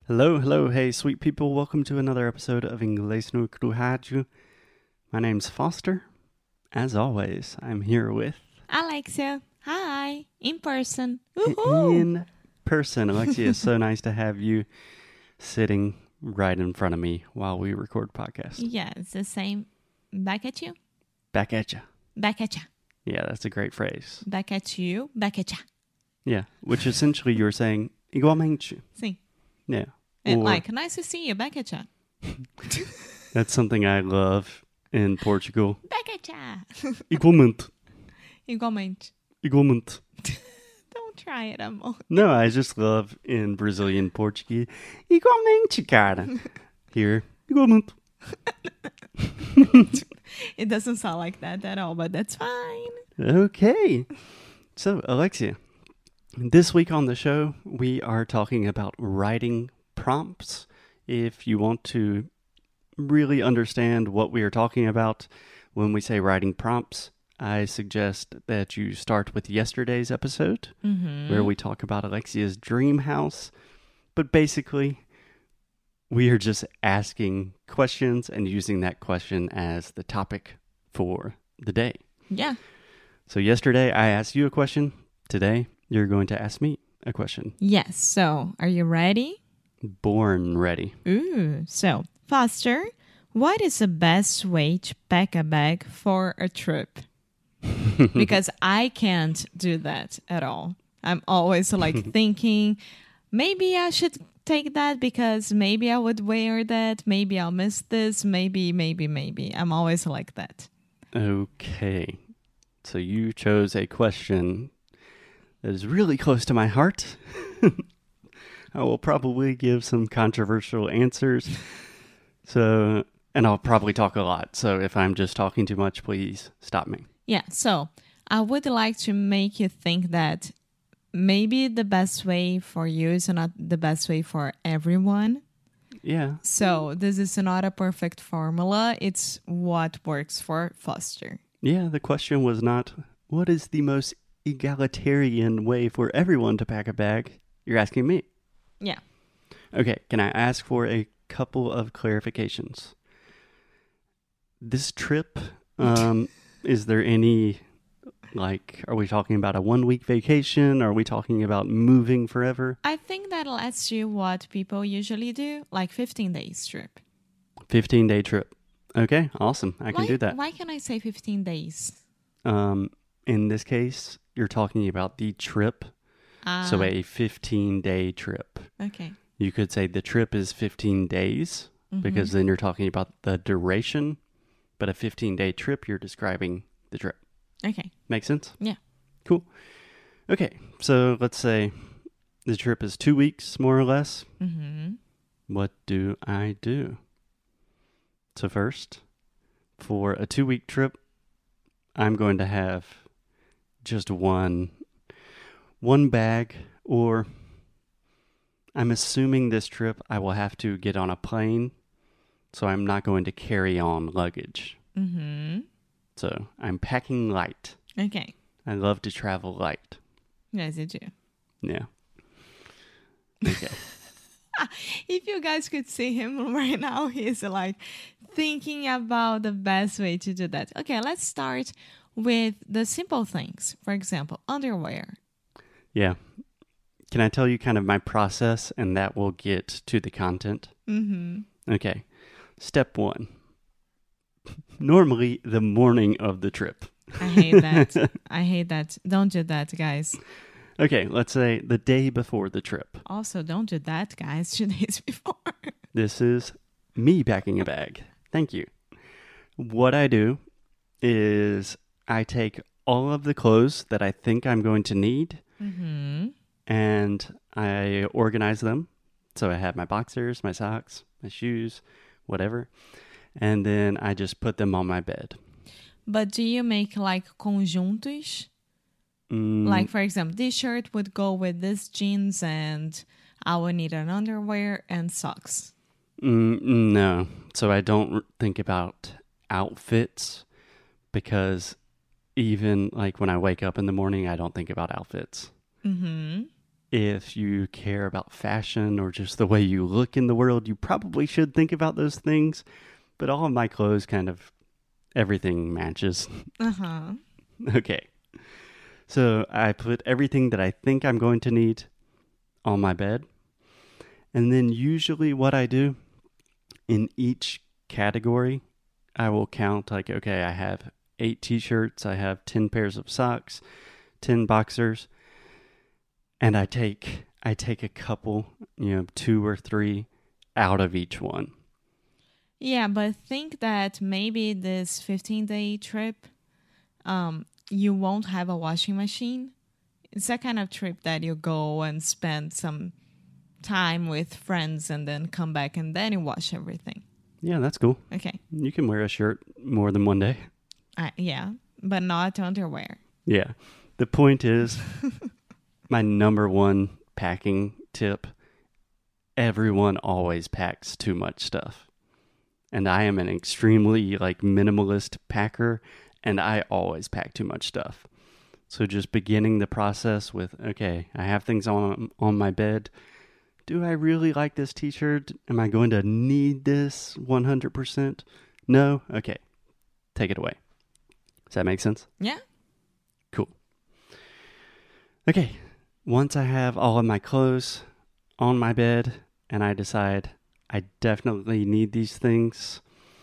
Hello, hello, hey, sweet people. Welcome to another episode of Inglês no Rádio. My name's Foster. As always, I'm here with... Alexia, hi, in person. Woohoo! In person. Alexia, it's so nice to have you sitting right in front of me while we record podcast. Yeah, it's the same. Back at you. Back at ya. Back at ya. Yeah, that's a great phrase. Back at you. Back at ya. Yeah, which essentially you're saying, igualmente. Sim. Yeah. And Or- like, nice to see you. Back at ya. That's something I love in Portugal. Back at ya. Igualmente. Igualmente. Igualmente. Don't try it, amor. No, I just love in Brazilian Portuguese. Igualmente, cara. Here, igualmente. It doesn't sound like that at all, but that's fine. Okay. So, Alexia, this week on the show, we are talking about writing prompts. If you want to really understand what we are talking about when we say writing prompts, I suggest that you start with yesterday's episode, where we talk about Alexia's dream house. But basically, we are just asking questions and using that question as the topic for the day. Yeah. So yesterday I asked you a question. Today you're going to ask me a question. Yes. So, are you ready? Born ready. Ooh. So, Foster, what is the best way to pack a bag for a trip? Because I can't do that at all. I'm always like thinking, maybe I should take that because maybe I would wear that. Maybe I'll miss this. Maybe. I'm always like that. Okay. So you chose a question that is really close to my heart. I will probably give some controversial answers. And I'll probably talk a lot. So if I'm just talking too much, please stop me. Yeah. So I would like to make you think that maybe the best way for you is not the best way for everyone. Yeah. So this is not a perfect formula. It's what works for Foster. Yeah, the question was not, what is the most egalitarian way for everyone to pack a bag? You're asking me. Yeah. Okay, can I ask for a couple of clarifications? This trip, is there any, are we talking about a 1 week vacation? Are we talking about moving forever? I think that'll ask you what people usually do, like 15 days trip. 15-day trip. Okay, awesome. I can do that. Why can I say 15 days? In this case, you're talking about the trip. So a 15-day trip. Okay. You could say the trip is 15 days because then you're talking about the duration. But a 15-day trip, you're describing the trip. Okay. Make sense? Yeah. Cool. Okay, so let's say the trip is 2 weeks, more or less. Mm-hmm. What do I do? So first, for a 2-week trip, I'm going to have just one bag, or I'm assuming this trip I will have to get on a plane, so I'm not going to carry on luggage. Mm-hmm. So I'm packing light. Okay. I love to travel light. Yes, you do. Yeah. Okay. If you guys could see him right now, he's like thinking about the best way to do that. Okay, let's start with the simple things. For example, underwear. Yeah. Can I tell you kind of my process, and that will get to the content? Mm-hmm. Okay. Step 1. Normally the morning of the trip. I hate that. I hate that. Don't do that, guys. Okay, let's say the day before the trip. Also, don't do that, guys. 2 days before. This is me packing a bag. Thank you. What I do is I take all of the clothes that I think I'm going to need, Mm-hmm. and I organize them. So I have my boxers, my socks, my shoes, whatever. And then I just put them on my bed. But do you make like conjuntos? Like, for example, this shirt would go with this jeans and I would need an underwear and socks. No. So I don't think about outfits because even like when I wake up in the morning, I don't think about outfits. Mm-hmm. If you care about fashion or just the way you look in the world, you probably should think about those things. But all of my clothes kind of everything matches. Uh-huh. Okay. So I put everything that I think I'm going to need on my bed. And then usually what I do in each category, I will count like, okay, I have 8 t-shirts, I have 10 pairs of socks, 10 boxers, and I take a couple, 2 or 3 out of each one. Yeah, but think that maybe this 15-day trip, you won't have a washing machine. It's that kind of trip that you go and spend some time with friends and then come back and then you wash everything. Yeah, that's cool. Okay. You can wear a shirt more than one day. Yeah, but not underwear. Yeah. The point is, my number one packing tip, everyone always packs too much stuff. And I am an extremely minimalist packer, and I always pack too much stuff. So just beginning the process with, okay, I have things on my bed. Do I really like this t-shirt? Am I going to need this 100%? No? Okay. Take it away. Does that make sense? Yeah. Cool. Okay. Once I have all of my clothes on my bed and I decide I definitely need these things,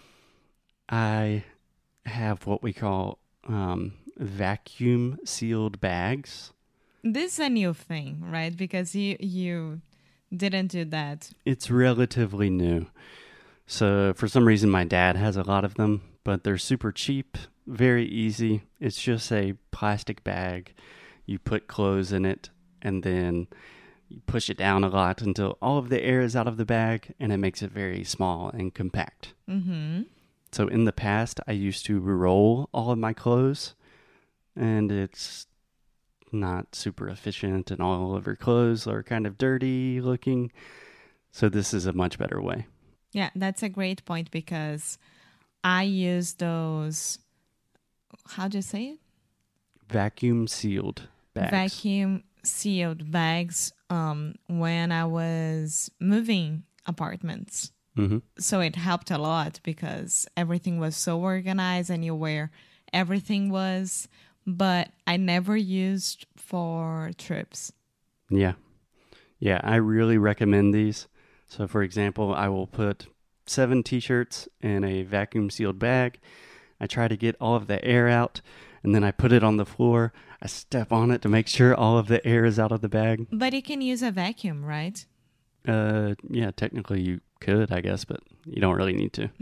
I have what we call vacuum sealed bags. This is a new thing, right? Because you didn't do that. It's relatively new. So for some reason my dad has a lot of them, but they're super cheap, very easy. It's just a plastic bag. You put clothes in it and then you push it down a lot until all of the air is out of the bag and it makes it very small and compact. Mm-hmm. So in the past, I used to roll all of my clothes and it's not super efficient and all of your clothes are kind of dirty looking. So this is a much better way. Yeah, that's a great point because I use those, how do you say it? Vacuum sealed bags. Vacuum sealed bags when I was moving apartments. Mm-hmm. So it helped a lot because everything was so organized and you where everything was, but I never used for trips. Yeah. Yeah, I really recommend these. So for example, I will put 7 t-shirts in a vacuum sealed bag. I try to get all of the air out and then I put it on the floor. I step on it to make sure all of the air is out of the bag. But you can use a vacuum, right? Yeah, technically you could, I guess, but you don't really need to.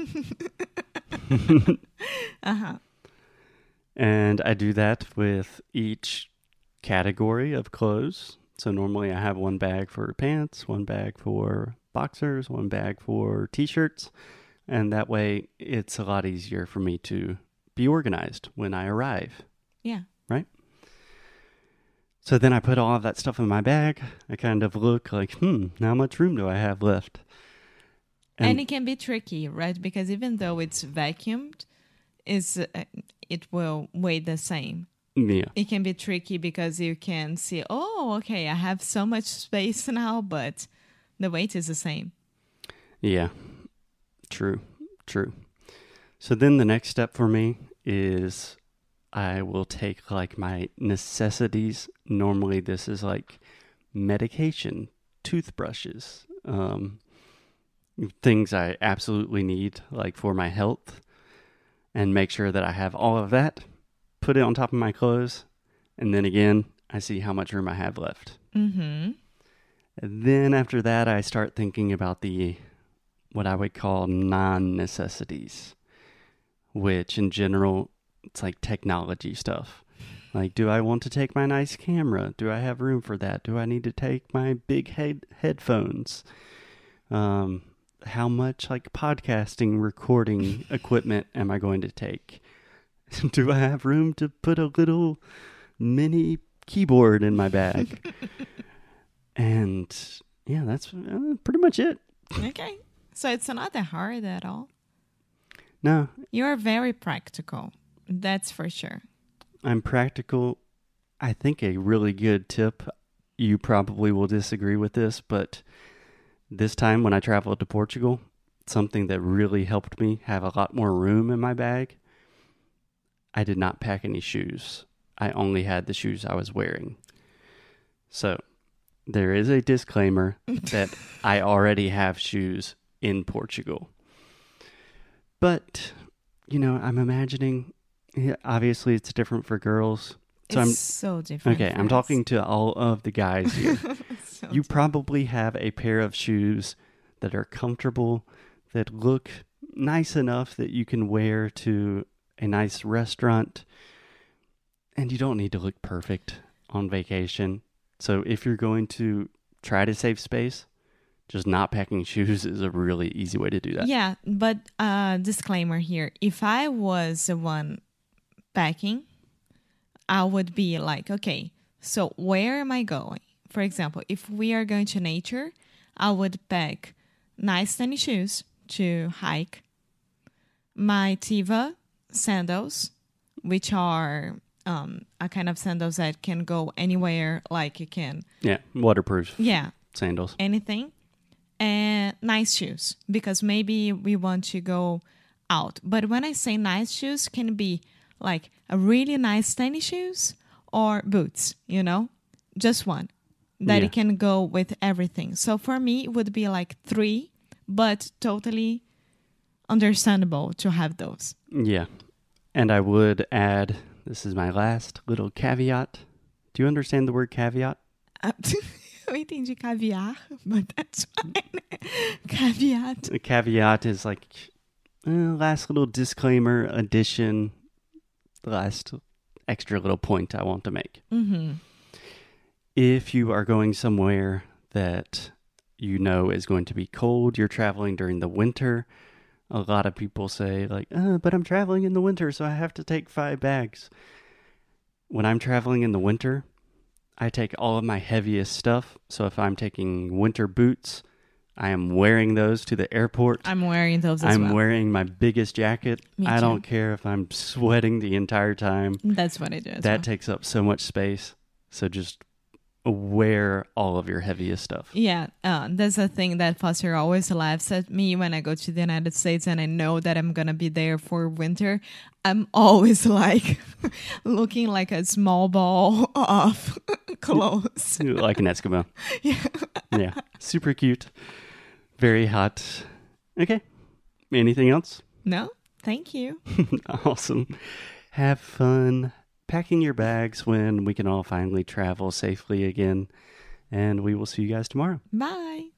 Uh-huh. And I do that with each category of clothes. So normally I have one bag for pants, one bag for boxers, one bag for t-shirts. And that way it's a lot easier for me to be organized when I arrive. Yeah. Right? So then I put all of that stuff in my bag. I kind of look like, how much room do I have left? And it can be tricky, right? Because even though it's vacuumed, it will weigh the same. Yeah. It can be tricky because you can see, okay, I have so much space now, but the weight is the same. Yeah. True. So then the next step for me is I will take my necessities. Normally this is medication, toothbrushes, things I absolutely need for my health, and make sure that I have all of that, put it on top of my clothes, and then again, I see how much room I have left. Mm-hmm. And then after that, I start thinking about what I would call non-necessities, which in general, it's technology stuff. Do I want to take my nice camera? Do I have room for that? Do I need to take my big headphones? How much podcasting recording equipment am I going to take? Do I have room to put a little mini keyboard in my bag? And yeah, that's pretty much it. Okay. So it's not that hard at all. No. You're very practical. That's for sure. I'm practical. I think a really good tip you probably will disagree with this, but this time when I traveled to Portugal, something that really helped me have a lot more room in my bag, I did not pack any shoes. I only had the shoes I was wearing. So there is a disclaimer that I already have shoes in Portugal. But, I'm imagining, obviously it's different for girls. So It's so different. Okay, for I'm us. talking to all of the guys here. So You probably have a pair of shoes that are comfortable, that look nice enough that you can wear to a nice restaurant, and you don't need to look perfect on vacation. So if you're going to try to save space, just not packing shoes is a really easy way to do that. Yeah, but disclaimer here. If I was the one packing, I would be like, okay, so where am I going? For example, if we are going to nature, I would pack nice tennis shoes to hike, my Tiva sandals, which are a kind of sandals that can go anywhere, like you can, Yeah, waterproof yeah, sandals. anything, and nice shoes because maybe we want to go out. But when I say nice shoes, can be like a really nice tennis shoes or boots, just one that Yeah. it can go with everything. So for me, it would be like 3, but totally understandable to have those. Yeah. And I would add, this is my last little caveat. Do you understand the word caveat? Eu entendi caviar, but that's fine. Caveat. A caveat is like last little disclaimer, addition, the last extra little point I want to make. Mm-hmm. If you are going somewhere that you know is going to be cold, you're traveling during the winter, a lot of people say like, but I'm traveling in the winter, so I have to take 5 bags. When I'm traveling in the winter, I take all of my heaviest stuff. So if I'm taking winter boots, I am wearing those to the airport. I'm wearing those as I'm well. wearing my biggest jacket. Me I too. don't care if I'm sweating the entire time. That's what I do as That well. takes up so much space. So just wear all of your heaviest stuff. Yeah, that's a thing that Foster always laughs at me when I go to the United States and I know that I'm going to be there for winter. I'm always like looking like a small ball of clothes. Like an Eskimo. Yeah. Yeah. Super cute. Very hot. Okay. Anything else? No, thank you. Awesome. Have fun packing your bags when we can all finally travel safely again. And we will see you guys tomorrow. Bye.